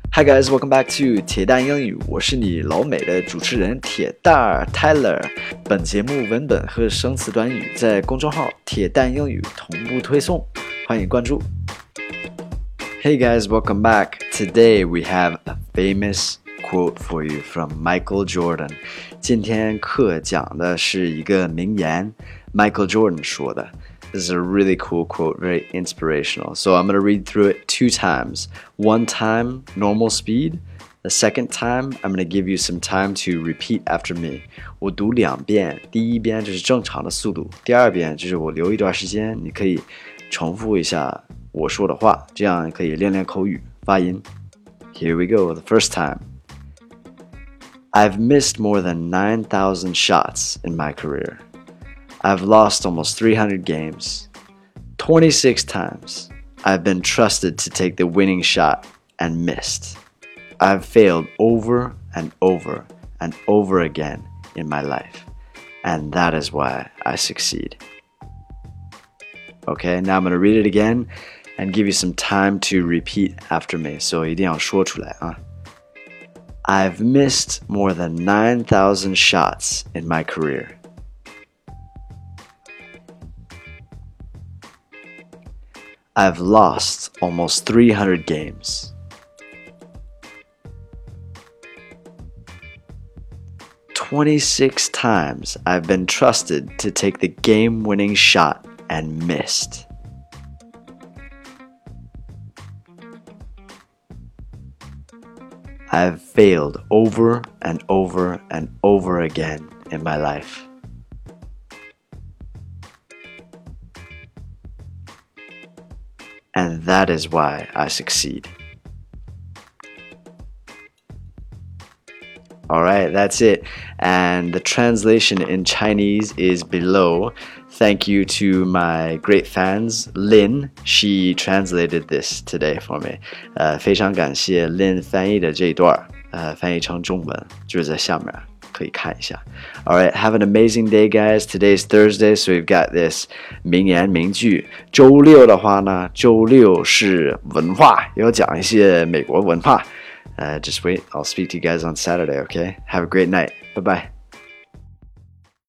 Hi guys, welcome back to 铁蛋英语，我是你老美的主持人铁蛋儿 Tyler。本节目文本和生词短语在公众号铁蛋英语同步推送，欢迎关注。Hey guys, welcome back. Today we have a famous quote for you from Michael Jordan. 今天课讲的是一个名言 ，Michael Jordan 说的。This is a really cool quote, very inspirational. So I'm going to read through it 2 times. One time, normal speed. The second time, I'm going to give you some time to repeat after me. 我读2遍，第一遍就是正常的速度，第二遍就是我留一段时间，你可以重复一下我说的话，这样可以练练口语发音。Here we go. The first time. I've missed more than 9,000 shots in my career.I've lost almost 300 games. 26 times, I've been trusted to take the winning shot and missed. I've failed over and over and over again in my life. And that is why I succeed. Okay, now I'm going to read it again and give you some time to repeat after me. So 一定要说出来啊。I've missed more than 9,000 shots in my career.I've lost almost 300 games. 26 times I've been trusted to take the game-winning shot and missed. I've failed over and over and over again in my life.And that is why I succeed. Alright, that's it. And the translation in Chinese is below. Thank you to my great fans, Lin. She translated this today for me. 非常感谢 Lin 翻译的这一段，翻译成中文，就是在下面。可以看一下。Alright, have an amazing day, guys. Today's Thursday, so we've got this 名言名句。周六的话呢，周六是文化，要讲一些美国文化。Just wait, I'll speak to you guys on Saturday, okay? Have a great night. Bye-bye.